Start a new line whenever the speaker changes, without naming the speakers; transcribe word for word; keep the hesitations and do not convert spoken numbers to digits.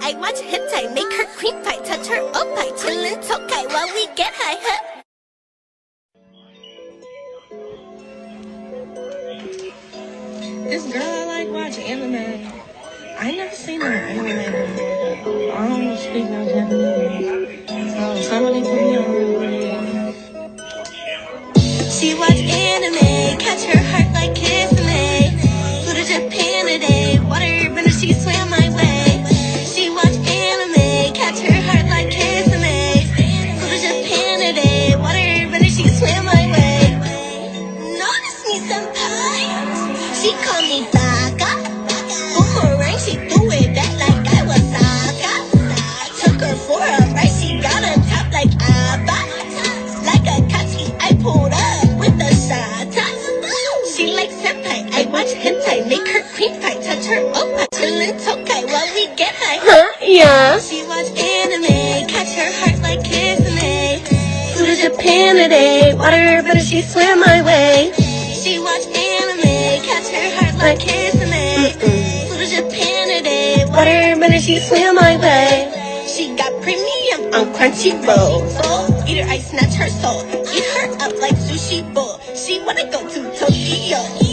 I watch hentai, make her cream pie, touch her up pie, chillin' tokai while we get high, huh?
This girl I like watch anime. I never seen her anime before. I don't speak no Japanese. So somebody put me on real quick.
She watch anime, catch her heart like Kisame. Flew to Japan today, water bender, she swam my way. She watch anime, catch her heart like Kisame. Flew to Japan today, water bender, she swam my way. Notice me, senpai. She call me Baka. Boomerang, she threw it back like I was Saka. Took her for a ride, she got on top like Abba. Like a Katsuki, I pulled up with the shata. She like senpai, I watch hentai, make her cream pie, touch her up, chillin' tokai while we get high.
Huh? Yeah.
She watch anime, catch her heart like Kisame. Flew to Japan today, water better, she swam my way. She watch anime, catch her heart like Kisame. Flew to Japan today, water better, she swam my way. She got premium on Crunchyroll. So eat her, I snatch her soul. Eat her up like sushi bowl. She wanna go to Tokyo.